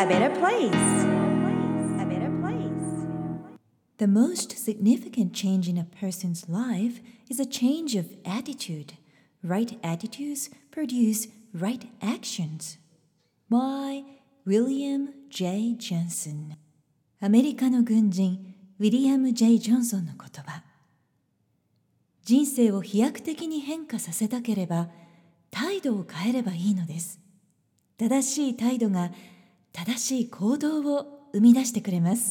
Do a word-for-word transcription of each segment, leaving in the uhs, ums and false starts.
better place. A better place. The most significant change in a person's life is a change of attitude. Right attitudes produce right actions. By William J. Johnson。 アメリカの軍人ウィリアム・ジェイ・ジョンソンの言葉。人生を飛躍的に変化させたければ態度を変えればいいのです。正しい態度が正しい行動を生み出してくれます。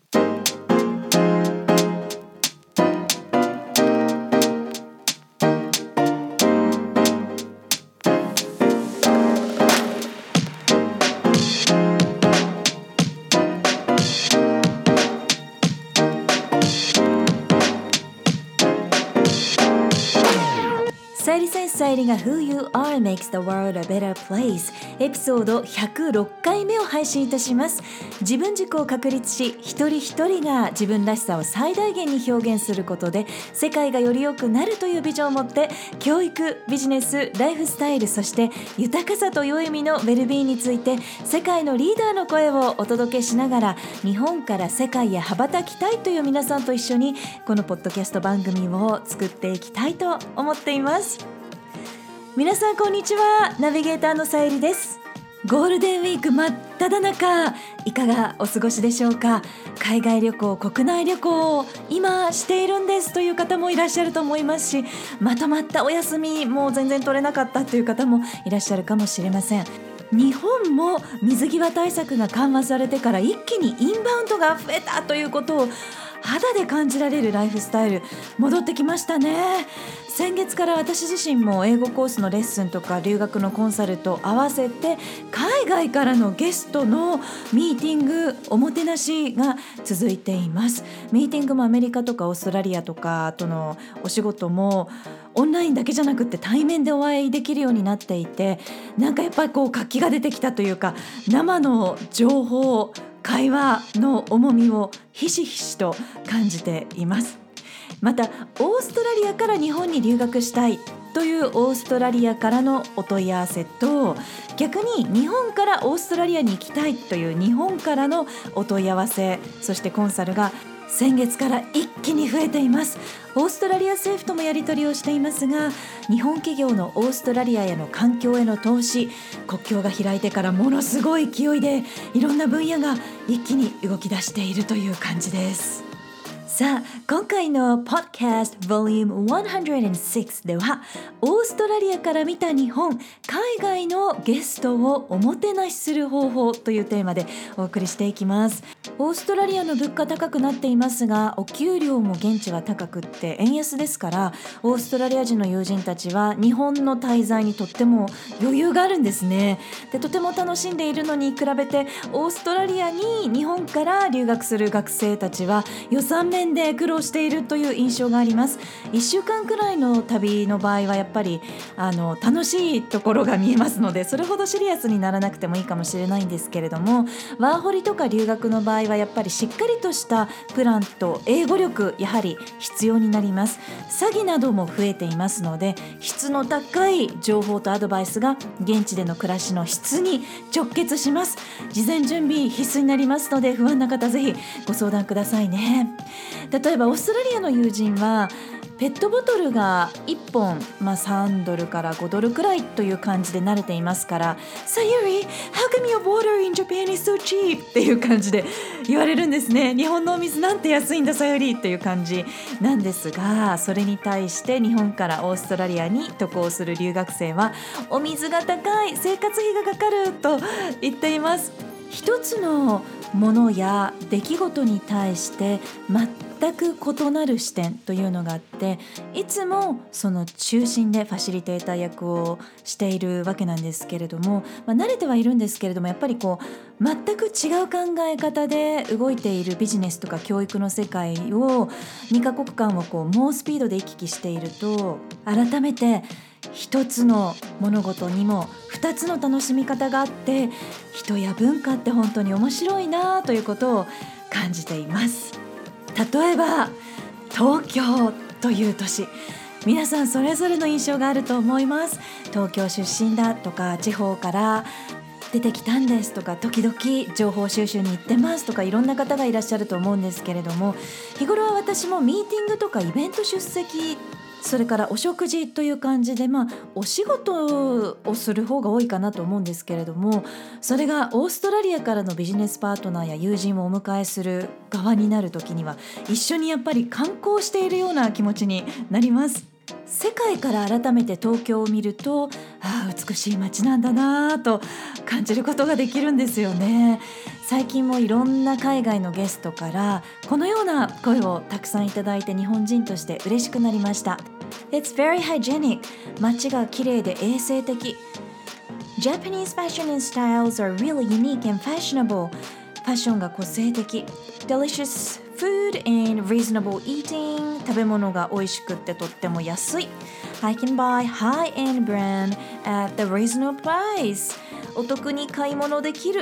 さゆり先生さゆりが Who You Are Makes the World a Better Place エピソードひゃくろっかいめを配信いたします。自分軸を確立し、一人一人が自分らしさを最大限に表現することで世界がより良くなるというビジョンを持って、教育、ビジネス、ライフスタイル、そして豊かさと良い意味のウェルビーについて世界のリーダーの声をお届けしながら、日本から世界へ羽ばたきたいという皆さんと一緒にこのポッドキャスト番組を作っていきたいと思っています。皆さんこんにちは。ナビゲーターのさゆりです。ゴールデンウィーク真っ只中、いかがお過ごしでしょうか。海外旅行、国内旅行を今しているんですという方もいらっしゃると思いますし、まとまったお休みもう全然取れなかったという方もいらっしゃるかもしれません。日本も水際対策が緩和されてから一気にインバウンドが増えたということを肌で感じられるライフスタイル戻ってきましたね。先月から私自身も英語コースのレッスンとか留学のコンサルと合わせて海外からのゲストのミーティング、おもてなしが続いています。ミーティングもアメリカとかオーストラリアとかとのお仕事もオンラインだけじゃなくて対面でお会いできるようになっていて、なんかやっぱりこう活気が出てきたというか、生の情報、会話の重みをひしひしと感じています。またオーストラリアから日本に留学したいというオーストラリアからのお問い合わせと、逆に日本からオーストラリアに行きたいという日本からのお問い合わせ、そしてコンサルが先月から一気に増えています。オーストラリア政府ともやり取りをしていますが、日本企業のオーストラリアへの環境への投資、国境が開いてからものすごい勢いでいろんな分野が一気に動き出しているという感じです。さあ、今回の Podcast Volume ひゃくろくではオーストラリアから見た日本、海外のゲストをおもてなしする方法というテーマでお送りしていきます。オーストラリアの物価高くなっていますが、お給料も現地は高くって円安ですから、オーストラリア人の友人たちは日本の滞在にとっても余裕があるんですね。で、とても楽しんでいるのに比べて、オーストラリアに日本から留学する学生たちは予算面で苦労しているという印象があります。いっしゅうかんくらいの旅の場合はやっぱりあの楽しいところが見えますので、それほどシリアスにならなくてもいいかもしれないんですけれども、ワーホリとか留学の場合はやっぱりしっかりとしたプランと英語力やはり必要になります。詐欺なども増えていますので、質の高い情報とアドバイスが現地での暮らしの質に直結します。事前準備必須になりますので、不安な方ぜひご相談くださいね。例えばオーストラリアの友人はペットボトルがいっぽん、まあ、さんドルからごドルくらいという感じで慣れていますから、さゆり How come your water in Japan is so cheap? っていう感じで言われるんですね。日本のお水なんて安いんださゆりっていう感じなんですが、それに対して日本からオーストラリアに渡航する留学生はお水が高い、生活費がかかると言っています。一つのものや出来事に対して全く異なる視点というのがあって、いつもその中心でファシリテーター役をしているわけなんですけれども、まあ、慣れてはいるんですけれども、やっぱりこう全く違う考え方で動いているビジネスとか教育の世界をにカ国間をこう猛スピードで行き来していると、改めて一つの物事にも二つの楽しみ方があって、人や文化って本当に面白いなということを感じています。例えば東京という都市、皆さんそれぞれの印象があると思います。東京出身だとか、地方から出てきたんですとか、時々情報収集に行ってますとか、いろんな方がいらっしゃると思うんですけれども、日頃は私もミーティングとかイベント出席、それからお食事という感じで、まあお仕事をする方が多いかなと思うんですけれども、それがオーストラリアからのビジネスパートナーや友人をお迎えする側になるときには、一緒にやっぱり観光しているような気持ちになります。世界から改めて東京を見ると、ああ美しい街なんだなと感じることができるんですよね。最近もいろんな海外のゲストからこのような声をたくさんいただいて、日本人として嬉しくなりました。 It's very hygienic. 街が綺麗で衛生的。 Japanese fashion and styles are really unique and fashionable. ファッションが個性的。 Delicious food and reasonable eating. 食べ物が美味しくってとっても安い。 I can buy high-end brand at the reasonable price. お得に買い物できる。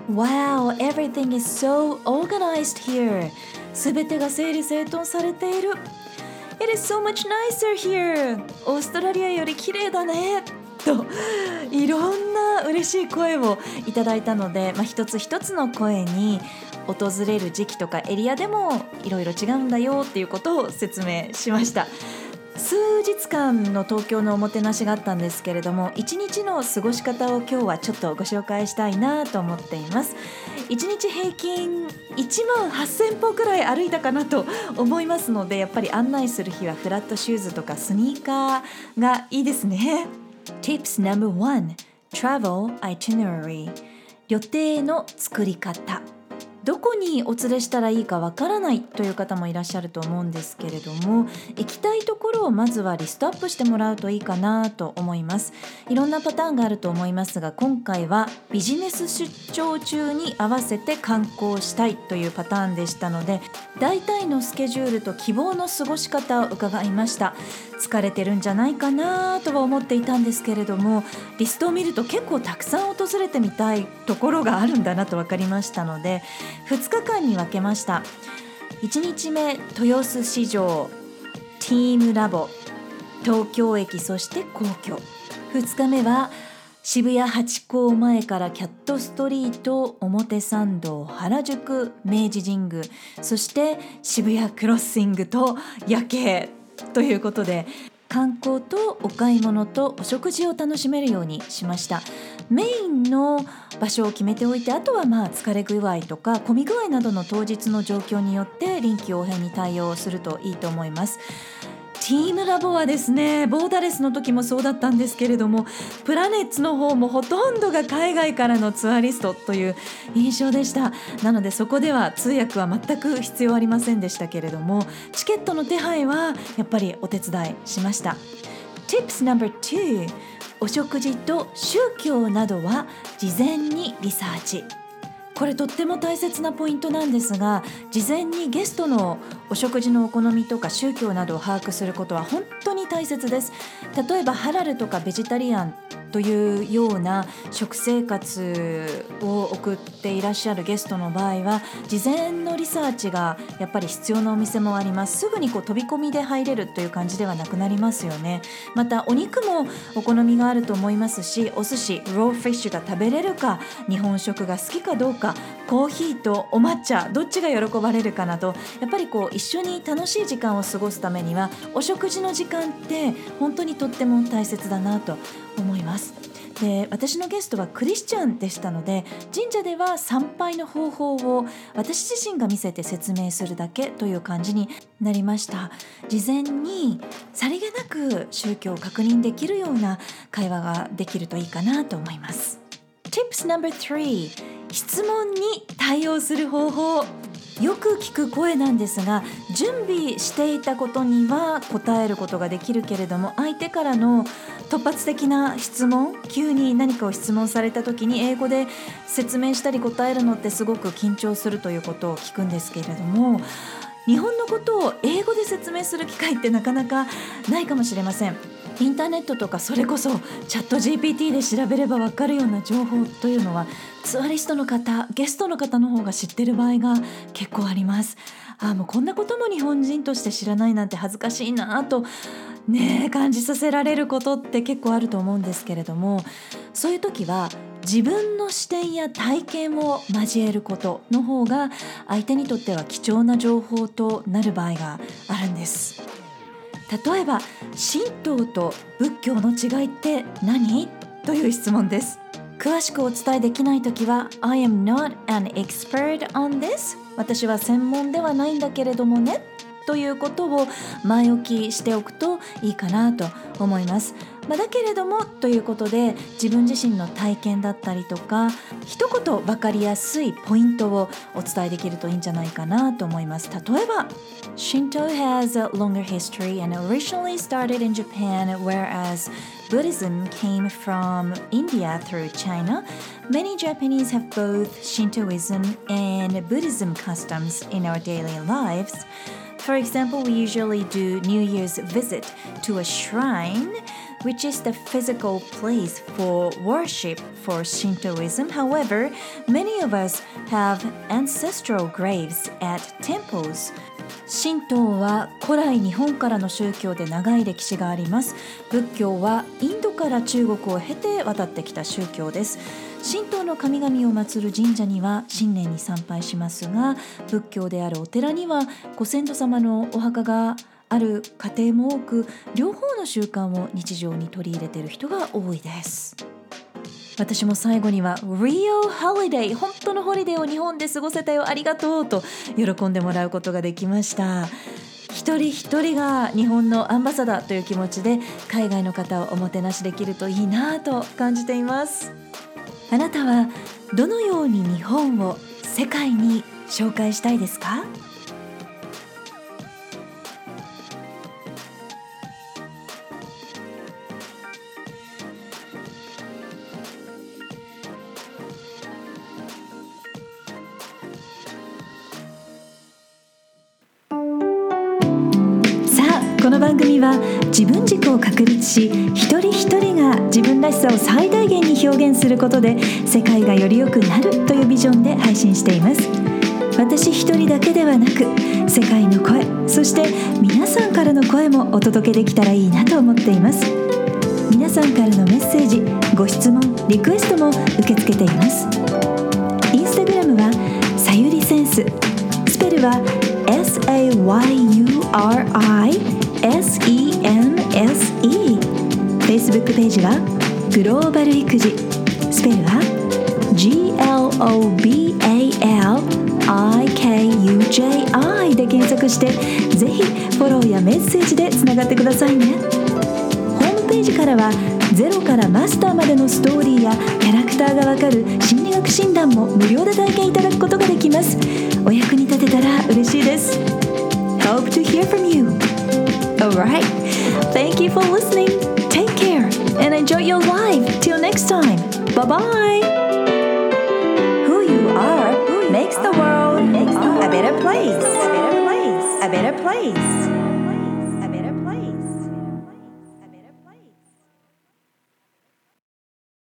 Wow, everything is so organized here. すべてが整理整頓されている。 It is so much nicer here. オーストラリアより綺麗だねと、いろんな嬉しい声をいただいたので、まあ、一つ一つの声に訪れる時期とかエリアでもいろいろ違うんだよっていうことを説明しました。数日間の東京のおもてなしがあったんですけれども、一日の過ごし方を今日はちょっとご紹介したいなと思っています。一日平均いちまんはっせんぽくらい歩いたかなと思いますので、やっぱり案内する日はフラットシューズとかスニーカーがいいですね。 Tips ナンバーワン Travel Itinerary。 予定の作り方。どこにお連れしたらいいかわからないという方もいらっしゃると思うんですけれども、行きたいところをまずはリストアップしてもらうといいかなと思います。いろんなパターンがあると思いますが、今回はビジネス出張中に合わせて観光したいというパターンでしたので、大体のスケジュールと希望の過ごし方を伺いました。疲れてるんじゃないかなとは思っていたんですけれども、リストを見ると結構たくさん訪れてみたいところがあるんだなと分かりましたので、ふつかかんに分けました。いちにちめ豊洲市場、ティームラボ、東京駅、そして皇居。ふつかめは渋谷ハチ公前からキャットストリート、表参道、原宿、明治神宮、そして渋谷クロッシングと夜景ということで、観光とお買い物とお食事を楽しめるようにしました。メインの場所を決めておいて、あとはまあ疲れ具合とか混み具合などの当日の状況によって臨機応変に対応するといいと思います。ティームラボはですね、ボーダレスの時もそうだったんですけれども、プラネッツの方もほとんどが海外からのツアリストという印象でした。なのでそこでは通訳は全く必要ありませんでしたけれども、チケットの手配はやっぱりお手伝いしました。 Tips ナンバーツー。 お食事と宗教などは事前にリサーチ。これとっても大切なポイントなんですが、事前にゲストのお食事のお好みとか宗教などを把握することは本当に大切です。例えばハラルとかベジタリアンというような食生活を送っていらっしゃるゲストの場合は、事前のリサーチがやっぱり必要なお店もあります。すぐにこう飛び込みで入れるという感じではなくなりますよね。またお肉もお好みがあると思いますし、お寿司、ローフィッシュが食べれるか、日本食が好きかどうか、コーヒーとお抹茶どっちが喜ばれるかなど、やっぱりこう一緒に楽しい時間を過ごすためにはお食事の時間って本当にとっても大切だなと思います。で、私のゲストはクリスチャンでしたので、神社では参拝の方法を私自身が見せて説明するだけという感じになりました。事前にさりげなく宗教を確認できるような会話ができるといいかなと思います。 Tips ナンバースリー。 質問に対応する方法。よく聞く声なんですが、準備していたことには答えることができるけれども、相手からの突発的な質問、急に何かを質問された時に英語で説明したり答えるのってすごく緊張するということを聞くんですけれども、日本のことを英語で説明する機会ってなかなかないかもしれません。インターネットとかそれこそチャット ジーピーティー で調べれば分かるような情報というのは、ツアリストの方、ゲストの方の方が知ってる場合が結構あります。ああ、もうこんなことも日本人として知らないなんて恥ずかしいなとね感じさせられることって結構あると思うんですけれども、そういう時は自分の視点や体験を交えることの方が相手にとっては貴重な情報となる場合があるんです。例えば、神道と仏教の違いって何？という質問です。詳しくお伝えできないときは I am not an expert on this 私は専門ではないんだけれどもねということを前置きしておくといいかなと思います。まあ、だけれどもということで自分自身の体験だったりとか一言分かりやすいポイントをお伝えできるといいんじゃないかなと思います。例えば Shinto has a longer history and originally started in Japan, whereas Buddhism came from India through China. Many Japanese have both Shintoism and Buddhism customs in our daily lives. For example, we usually do New Year's visit to a shrine, which is the physical place for worship for Shintoism. However, many of us have ancestral graves at temples.神道は古来日本からの宗教で長い歴史があります。仏教はインドから中国を経て渡ってきた宗教です。神道の神々を祀る神社には新年に参拝しますが、仏教であるお寺にはご先祖様のお墓がある家庭も多く、両方の習慣を日常に取り入れている人が多いです。私も最後には Real Holiday 本当のホリデーを日本で過ごせたよありがとうと喜んでもらうことができました。一人一人が日本のアンバサダーという気持ちで海外の方をおもてなしできるといいなと感じています。あなたはどのように日本を世界に紹介したいですか？この番組は自分軸を確立し一人一人が自分らしさを最大限に表現することで世界がより良くなるというビジョンで配信しています。私一人だけではなく世界の声、そして皆さんからの声もお届けできたらいいなと思っています。皆さんからのメッセージ、ご質問、リクエストも受け付けています。インスタグラムはさゆりセンス、スペルは エス エー ワイ ユー アール アイエス イー エヌ エス イー Facebook ページはグローバル育児、スペルは ジー エル オー ビー エー エル アイ ケー ユー ジェー アイ で検索してぜひフォローやメッセージでつながってくださいね。ホームページからはゼロからマスターまでのストーリーやキャラクターがわかる心理学診断も無料で体験いただくことができます。お役に立てたら嬉しいです。 Hope to hear from you.Alright, thank you for listening. Take care and enjoy your life. Till next time. Bye bye. Who you are makes the world a better place. A better place. A better place.